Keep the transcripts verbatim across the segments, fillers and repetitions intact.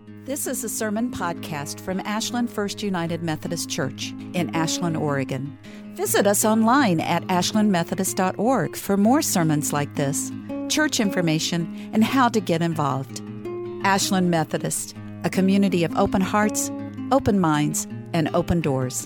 This is a sermon podcast from Ashland First United Methodist Church in Ashland, Oregon. Visit us online at ashland methodist dot org for more sermons like this, church information, and how to get involved. Ashland Methodist, a community of open hearts, open minds, and open doors.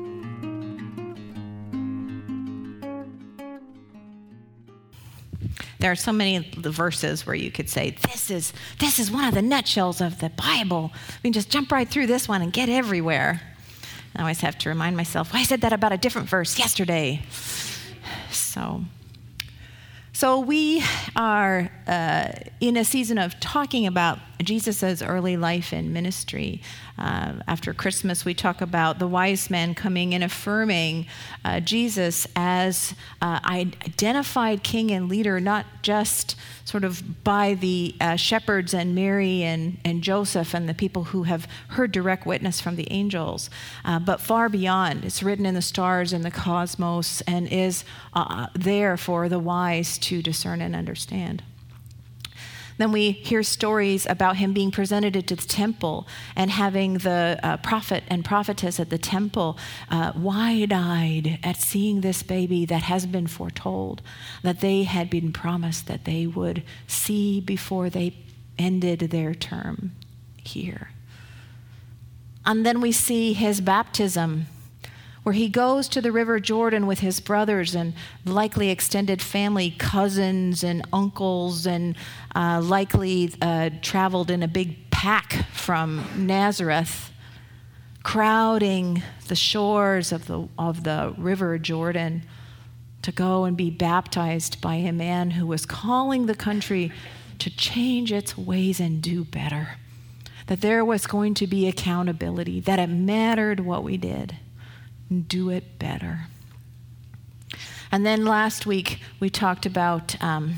There are so many verses where you could say, this is this is one of the nutshells of the Bible. We can just jump right through this one and get everywhere. I always have to remind myself, well, I said that about a different verse yesterday. So, so we are uh, in a season of talking about Jesus' early life and ministry. Uh, after Christmas, we talk about the wise men coming and affirming uh, Jesus as uh, identified king and leader, not just sort of by the uh, shepherds and Mary and, and Joseph and the people who have heard direct witness from the angels, uh, but far beyond. It's written in the stars and the cosmos and is uh, there for the wise to discern and understand. Then we hear stories about him being presented into the temple and having the uh, prophet and prophetess at the temple uh, wide-eyed at seeing this baby that has been foretold, that they had been promised that they would see before they ended their term here. And then we see his baptism, where he goes to the River Jordan with his brothers and likely extended family, cousins and uncles, and uh, likely uh, traveled in a big pack from Nazareth, crowding the shores of the of the River Jordan to go and be baptized by a man who was calling the country to change its ways and do better. That there was going to be accountability, that it mattered what we did. Do it better. And then last week we talked about, um,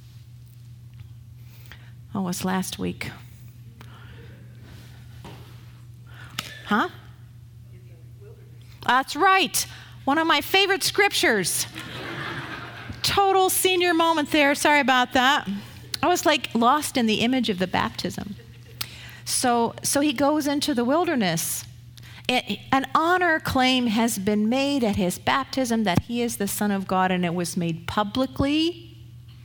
oh, what was last week? Huh? That's right. One of my favorite scriptures. Total senior moment there. Sorry about that. I was like lost in the image of the baptism. So, so he goes into the wilderness. It, an honor claim has been made at his baptism that he is the Son of God, and it was made publicly.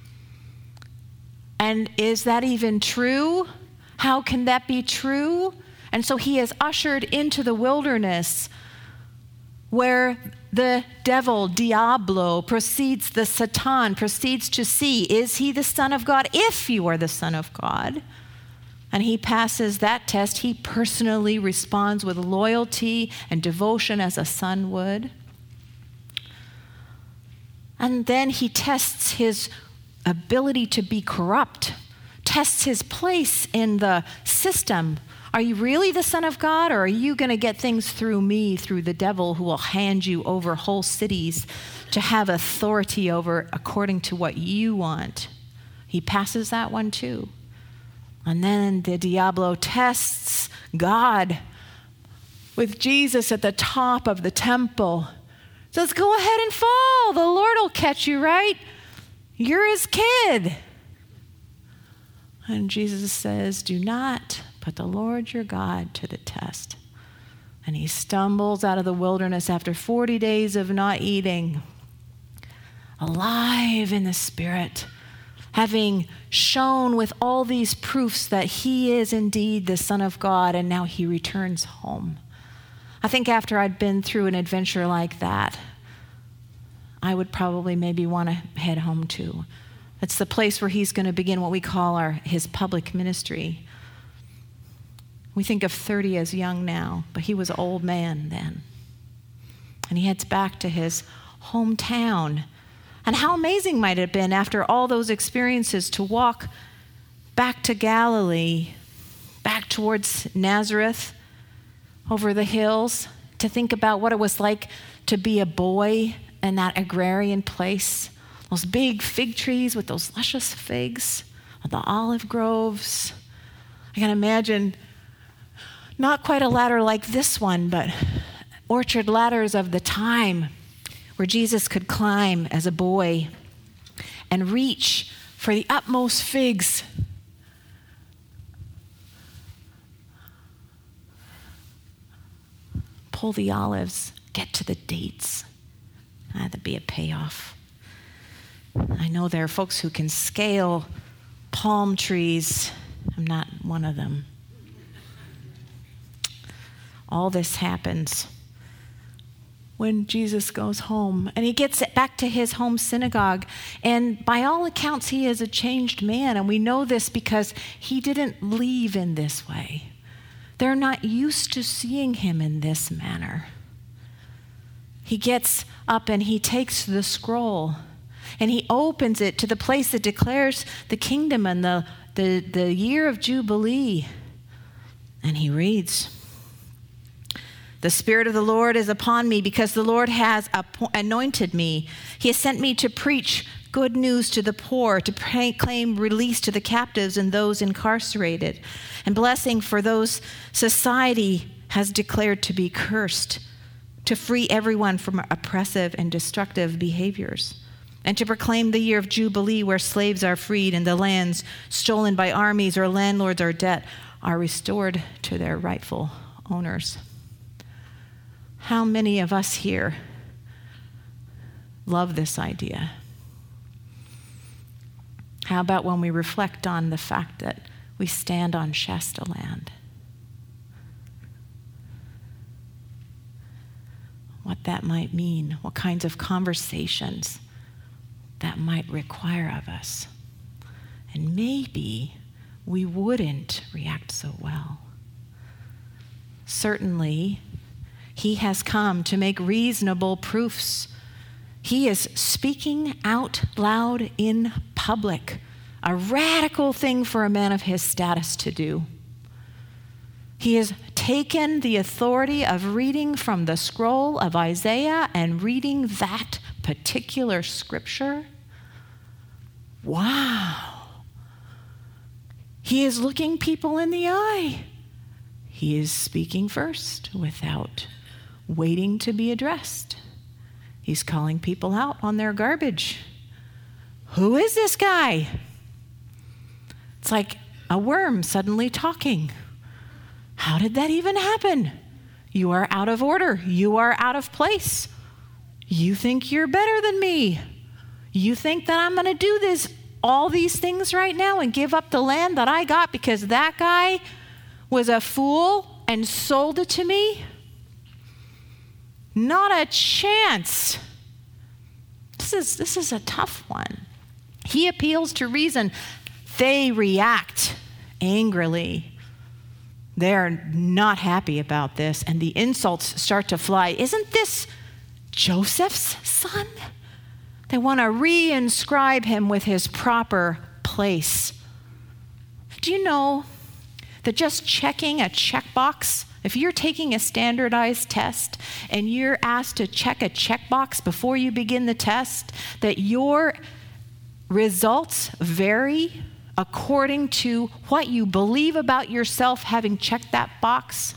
And is that even true? How can that be true? And so he is ushered into the wilderness where the devil, Diablo, proceeds, the Satan, proceeds to see, is he the Son of God? If you are the Son of God. And he passes that test. He personally responds with loyalty and devotion as a son would. And then he tests his ability to be corrupt, tests his place in the system. Are you really the Son of God, or are you going to get things through me, through the devil who will hand you over whole cities to have authority over according to what you want? He passes that one too. And then the Diablo tests God with Jesus at the top of the temple. Says, go ahead and fall. The Lord will catch you, right? You're his kid. And Jesus says, do not put the Lord your God to the test. And he stumbles out of the wilderness after forty days of not eating, alive in the Spirit, having shown with all these proofs that he is indeed the Son of God, and now he returns home. I think after I'd been through an adventure like that, I would probably maybe want to head home too. It's the place where he's going to begin what we call our his public ministry. We think of thirty as young now, but he was an old man then. And he heads back to his hometown. And how amazing might it have been after all those experiences to walk back to Galilee, back towards Nazareth, over the hills, to think about what it was like to be a boy in that agrarian place. Those big fig trees with those luscious figs, the olive groves. I can imagine not quite a ladder like this one, but orchard ladders of the time, where Jesus could climb as a boy and reach for the utmost figs pull the olives, get to the dates. That'd be a payoff. I know there are folks who can scale palm trees. I'm not one of them. All this happens when Jesus goes home, and he gets it back to his home synagogue. And by all accounts, he is a changed man. And we know this because he didn't leave in this way. They're not used to seeing him in this manner. He gets up and he takes the scroll and he opens it to the place that declares the kingdom and the, the, the year of Jubilee. And he reads, "The Spirit of the Lord is upon me because the Lord has anointed me. He has sent me to preach good news to the poor, to proclaim release to the captives and those incarcerated, and blessing for those society has declared to be cursed, to free everyone from oppressive and destructive behaviors, and to proclaim the year of Jubilee where slaves are freed and the lands stolen by armies or landlords or debt are restored to their rightful owners." How many of us here love this idea? How about when we reflect on the fact that we stand on Shasta land? What that might mean, what kinds of conversations that might require of us. And maybe we wouldn't react so well. Certainly, he has come to make reasonable proofs. He is speaking out loud in public, a radical thing for a man of his status to do. He has taken the authority of reading from the scroll of Isaiah and reading that particular scripture. Wow. He is looking people in the eye. He is speaking first without waiting to be addressed. He's calling people out on their garbage. Who is this guy? It's like a worm suddenly talking. How did that even happen? You are out of order. You are out of place. You think you're better than me. You think that I'm going to do this, all these things right now and give up the land that I got because that guy was a fool and sold it to me? Not a chance. This is, this is a tough one. He appeals to reason. They react angrily. They're not happy about this, and the insults start to fly. Isn't this Joseph's son? They want to reinscribe him with his proper place. Do you know that just checking a checkbox, if you're taking a standardized test and you're asked to check a checkbox before you begin the test, that your results vary according to what you believe about yourself having checked that box?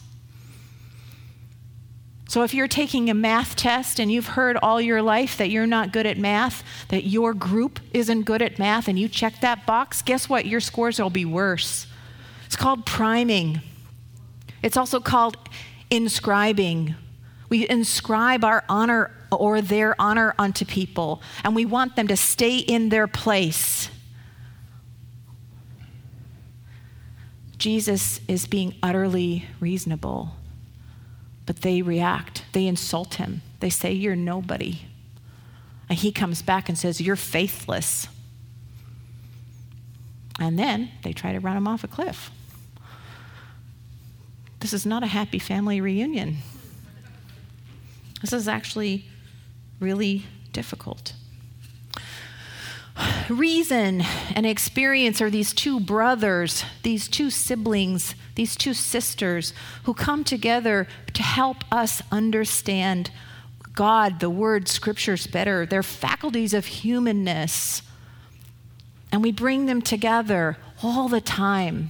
So if you're taking a math test and you've heard all your life that you're not good at math, that your group isn't good at math, and you check that box, guess what? Your scores will be worse. It's called priming. It's also called inscribing. We inscribe our honor or their honor unto people, and we want them to stay in their place. Jesus is being utterly reasonable, but they react. They insult him. They say, "You're nobody." And he comes back and says, "You're faithless." And then they try to run him off a cliff. This is not a happy family reunion. This is actually really difficult. Reason and experience are these two brothers, these two siblings, these two sisters who come together to help us understand God, the Word, Scriptures better, their faculties of humanness. And we bring them together all the time.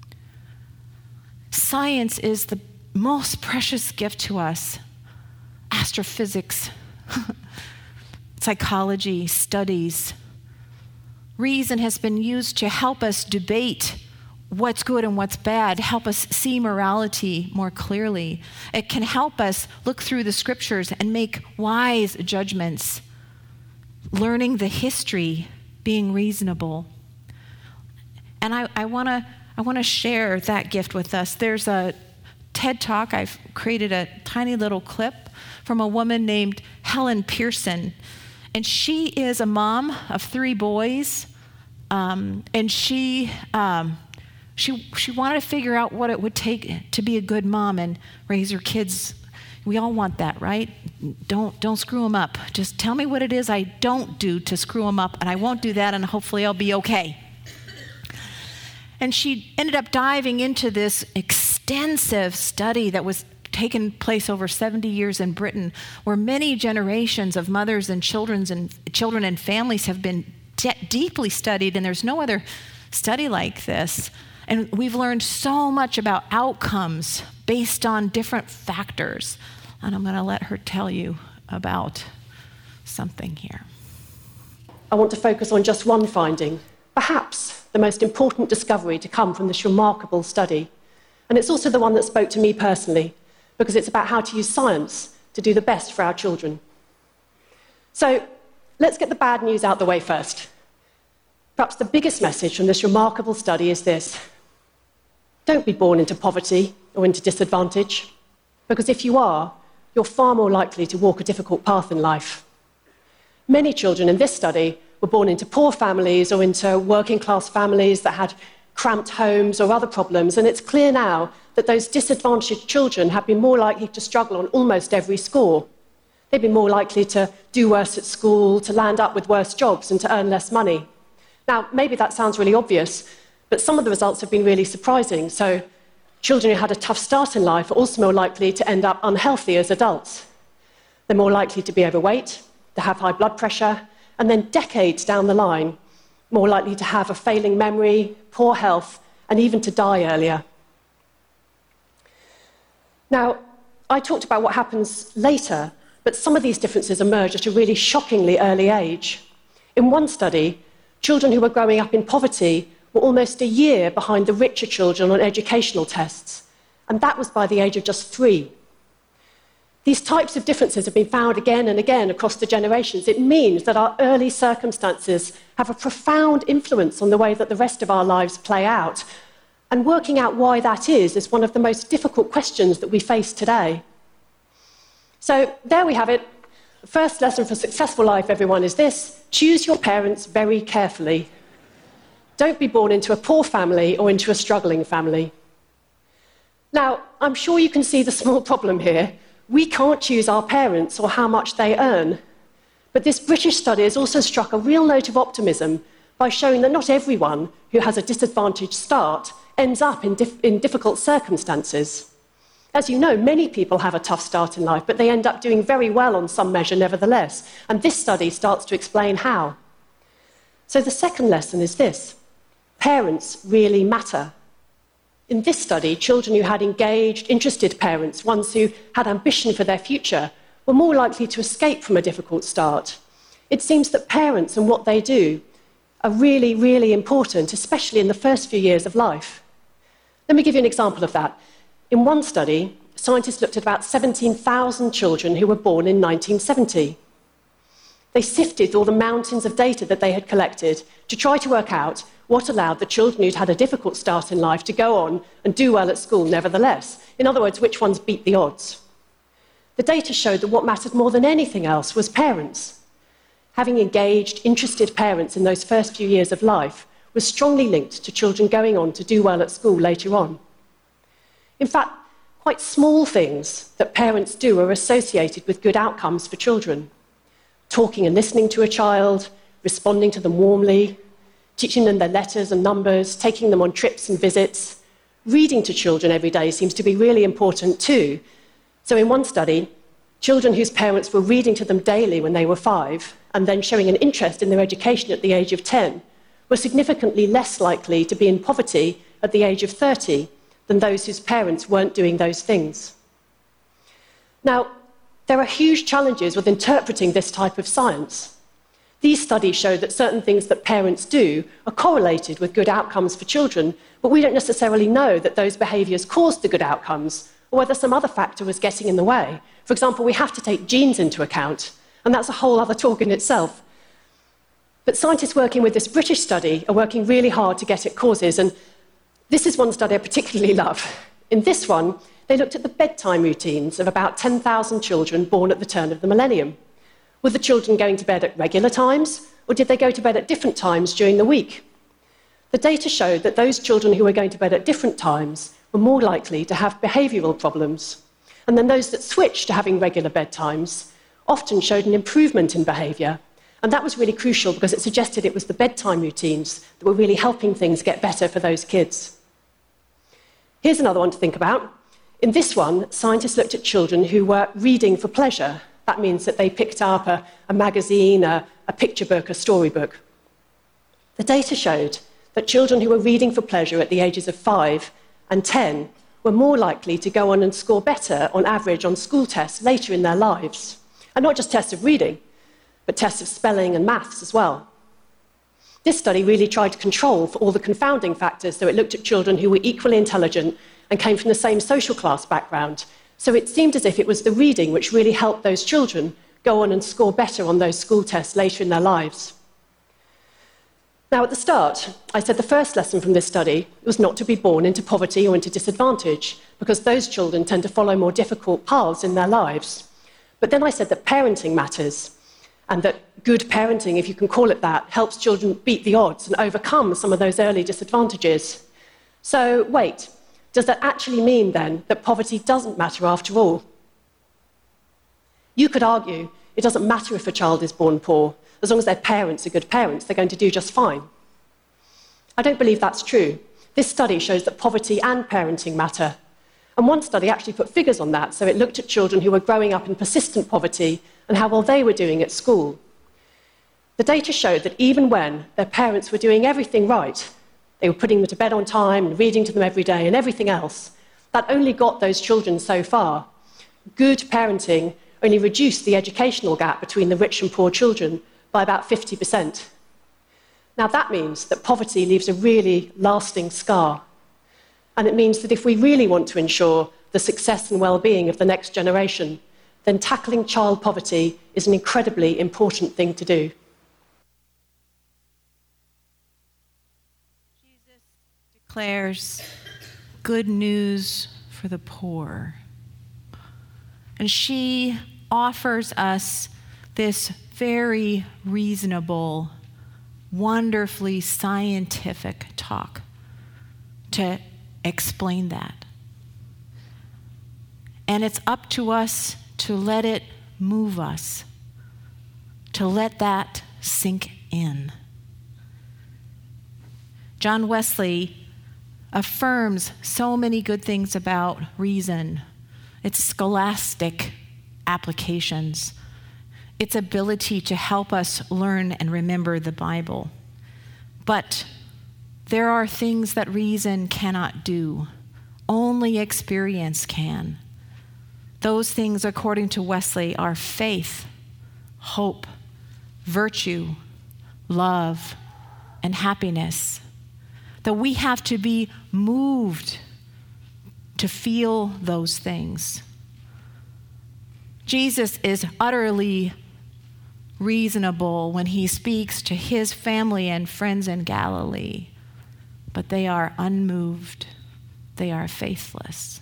Science is the most precious gift to us. Astrophysics, psychology, studies. Reason has been used to help us debate what's good and what's bad, help us see morality more clearly. It can help us look through the scriptures and make wise judgments, learning the history, being reasonable. And I, I want to I want to share that gift with us. There's a TED Talk. I've created a tiny little clip from a woman named Helen Pearson. And she is a mom of three boys. Um, and she, um, she, she wanted to figure out what it would take to be a good mom and raise her kids. We all want that, right? Don't, don't screw them up. Just tell me what it is I don't do to screw them up, and I won't do that, and hopefully I'll be okay. And she ended up diving into this extensive study that was taken place over seventy years in Britain, where many generations of mothers and children and children and families have been de- deeply studied, and there's no other study like this. And we've learned so much about outcomes based on different factors. And I'm going to let her tell you about something here. I want to focus on just one finding, perhaps the most important discovery to come from this remarkable study. And it's also the one that spoke to me personally, because it's about how to use science to do the best for our children. So let's get the bad news out the way first. Perhaps the biggest message from this remarkable study is this: don't be born into poverty or into disadvantage, because if you are, you're far more likely to walk a difficult path in life. Many children in this study were born into poor families or into working-class families that had cramped homes or other problems, and it's clear now that those disadvantaged children have been more likely to struggle on almost every score. They've been more likely to do worse at school, to land up with worse jobs, and to earn less money. Now, maybe that sounds really obvious, but some of the results have been really surprising. So children who had a tough start in life are also more likely to end up unhealthy as adults. They're more likely to be overweight, to have high blood pressure, and then decades down the line, more likely to have a failing memory, poor health, and even to die earlier. Now, I talked about what happens later, but some of these differences emerge at a really shockingly early age. In one study, children who were growing up in poverty were almost a year behind the richer children on educational tests, and that was by the age of just three. These types of differences have been found again and again across the generations. It means that our early circumstances have a profound influence on the way that the rest of our lives play out. And working out why that is is one of the most difficult questions that we face today. So there we have it. The first lesson for successful life, everyone, is this: choose your parents very carefully. Don't be born into a poor family or into a struggling family. Now, I'm sure you can see the small problem here. We can't choose our parents or how much they earn. But this British study has also struck a real note of optimism by showing that not everyone who has a disadvantaged start ends up in, dif- in difficult circumstances. As you know, many people have a tough start in life, but they end up doing very well on some measure nevertheless. And this study starts to explain how. So the second lesson is this: parents really matter. In this study, children who had engaged, interested parents, ones who had ambition for their future, were more likely to escape from a difficult start. It seems that parents and what they do are really, really important, especially in the first few years of life. Let me give you an example of that. In one study, scientists looked at about seventeen thousand children who were born in nineteen seventy. They sifted through all the mountains of data that they had collected to try to work out what allowed the children who'd had a difficult start in life to go on and do well at school nevertheless. In other words, which ones beat the odds. The data showed that what mattered more than anything else was parents. Having engaged, interested parents in those first few years of life was strongly linked to children going on to do well at school later on. In fact, quite small things that parents do are associated with good outcomes for children. Talking and listening to a child, responding to them warmly, teaching them their letters and numbers, taking them on trips and visits. Reading to children every day seems to be really important too. So in one study, children whose parents were reading to them daily when they were five and then showing an interest in their education at the age of ten were significantly less likely to be in poverty at the age of thirty than those whose parents weren't doing those things. Now, there are huge challenges with interpreting this type of science. These studies show that certain things that parents do are correlated with good outcomes for children, but we don't necessarily know that those behaviours caused the good outcomes, or whether some other factor was getting in the way. For example, we have to take genes into account, and that's a whole other talk in itself. But scientists working with this British study are working really hard to get at causes, and this is one study I particularly love. In this one, they looked at the bedtime routines of about ten thousand children born at the turn of the millennium. Were the children going to bed at regular times, or did they go to bed at different times during the week? The data showed that those children who were going to bed at different times were more likely to have behavioural problems, and then those that switched to having regular bedtimes often showed an improvement in behaviour. And that was really crucial because it suggested it was the bedtime routines that were really helping things get better for those kids. Here's another one to think about. In this one, scientists looked at children who were reading for pleasure. That means that they picked up a, a magazine, a, a picture book, a storybook. The data showed that children who were reading for pleasure at the ages of five and ten were more likely to go on and score better on average on school tests later in their lives. And not just tests of reading, but tests of spelling and maths as well. This study really tried to control for all the confounding factors, so it looked at children who were equally intelligent and came from the same social class background. So it seemed as if it was the reading which really helped those children go on and score better on those school tests later in their lives. Now, at the start, I said the first lesson from this study was not to be born into poverty or into disadvantage, because those children tend to follow more difficult paths in their lives. But then I said that parenting matters, and that good parenting, if you can call it that, helps children beat the odds and overcome some of those early disadvantages. So, wait, does that actually mean, then, that poverty doesn't matter after all? You could argue it doesn't matter if a child is born poor. As long as their parents are good parents, they're going to do just fine. I don't believe that's true. This study shows that poverty and parenting matter. And one study actually put figures on that, so it looked at children who were growing up in persistent poverty and how well they were doing at school. The data showed that even when their parents were doing everything right, they were putting them to bed on time and reading to them every day and everything else, that only got those children so far. Good parenting only reduced the educational gap between the rich and poor children by about fifty percent. Now that means that poverty leaves a really lasting scar. And it means that if we really want to ensure the success and well-being of the next generation, then tackling child poverty is an incredibly important thing to do. Jesus declares good news for the poor. And she offers us this very reasonable, wonderfully scientific talk to explain that. And it's up to us to let it move us, to let that sink in. John Wesley affirms so many good things about reason, its scholastic applications, its ability to help us learn and remember the Bible. But there are things that reason cannot do. Only experience can. Those things, according to Wesley, are faith, hope, virtue, love, and happiness. That we have to be moved to feel those things. Jesus is utterly reasonable when he speaks to his family and friends in Galilee, but they are unmoved. They are faithless.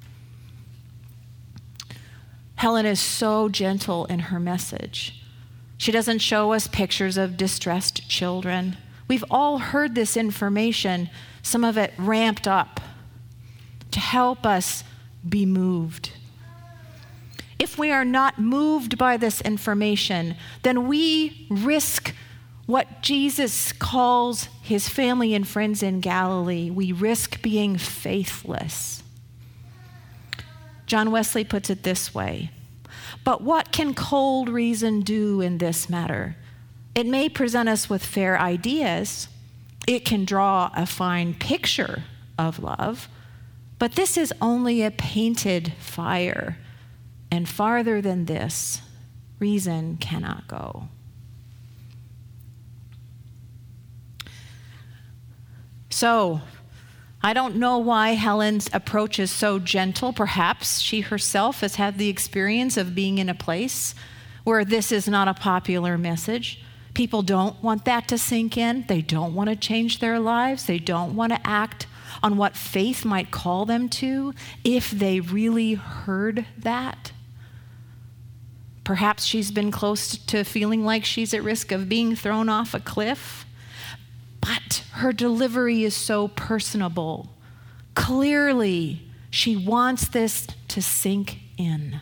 Helen is so gentle in her message. She doesn't show us pictures of distressed children. We've all heard this information, some of it ramped up, to help us be moved. If we are not moved by this information, then we risk what Jesus calls his family and friends in Galilee. We risk being faithless. John Wesley puts it this way: but what can cold reason do in this matter? It may present us with fair ideas. It can draw a fine picture of love, but this is only a painted fire. And farther than this, reason cannot go. So, I don't know why Helen's approach is so gentle. Perhaps she herself has had the experience of being in a place where this is not a popular message. People don't want that to sink in. They don't want to change their lives. They don't want to act on what faith might call them to if they really heard that. Perhaps she's been close to feeling like she's at risk of being thrown off a cliff. But her delivery is so personable. Clearly, she wants this to sink in.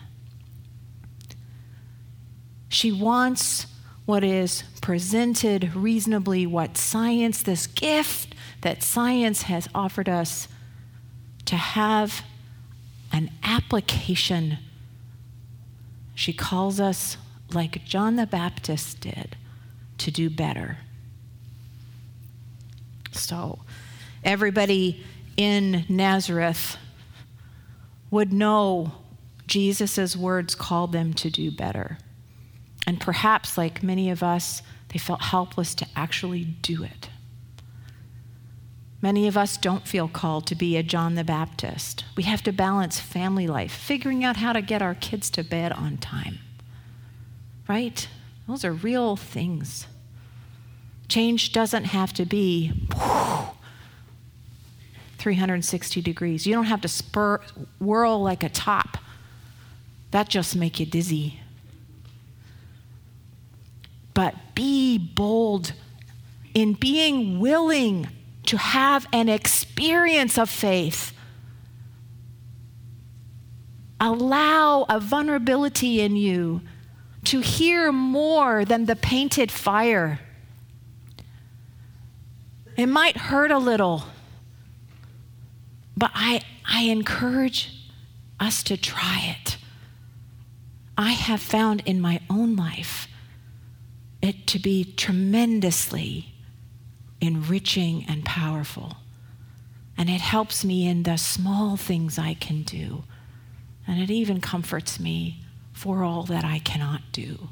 She wants what is presented reasonably, what science, this gift that science has offered us, to have an application. She calls us, like John the Baptist did, to do better. So everybody in Nazareth would know Jesus' words called them to do better. And perhaps, like many of us, they felt helpless to actually do it. Many of us don't feel called to be a John the Baptist. We have to balance family life, figuring out how to get our kids to bed on time. Right? Those are real things. Change doesn't have to be whew, three hundred sixty degrees. You don't have to spur, whirl like a top. That just make you dizzy. But be bold in being willing to have an experience of faith. Allow a vulnerability in you to hear more than the painted fire. It might hurt a little, but I, I encourage us to try it. I have found in my own life it to be tremendously enriching and powerful. And it helps me in the small things I can do. And it even comforts me for all that I cannot do.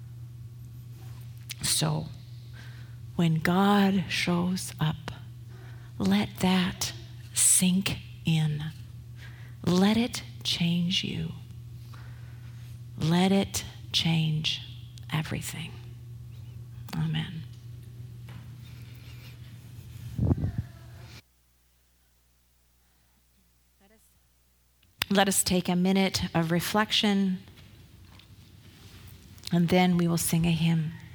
So, when God shows up, let that sink in. Let it change you. Let it change everything. Amen. Let us, let us take a minute of reflection, and then we will sing a hymn.